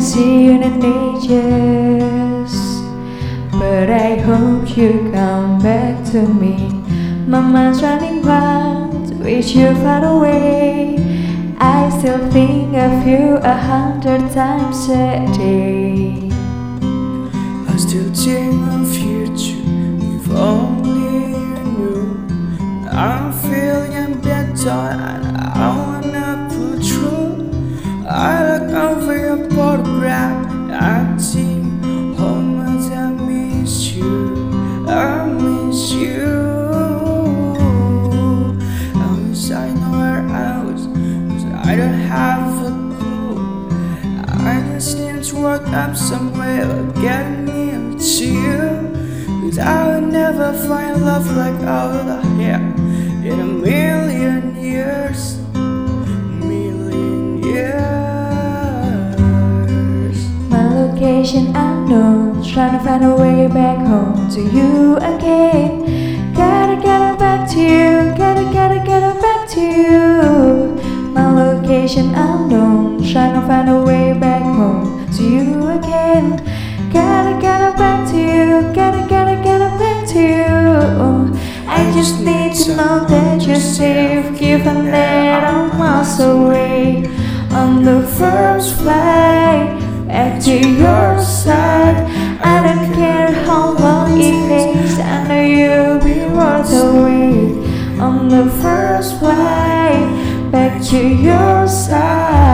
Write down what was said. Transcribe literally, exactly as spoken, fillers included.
see you in ages, but I hope you come back to me. My mind's running wild, wish you far away. I still think of you a hundred times a day. I still think of you too, if only you knew. I'm feeling better and I wanna pull through. I look over your photograph and I think how much I miss you. I miss you. I wish I know where I was, 'cause I don't have a clue. I just need to work up some way of getting me to you, 'cause I will never find love like I would have in a million years. Million years. My location unknown, trying to find a way back home to you again. Gotta get back to you, gotta gotta get back to you. My location unknown, trying to find a way back home to you again. Gotta get back to you, gotta gotta get back to you. I just need to know that you're safe, given that I'm miles away. On the first flight back to your side, I don't care how long it takes, I know you'll be worth the wait. On the first flight back to your side.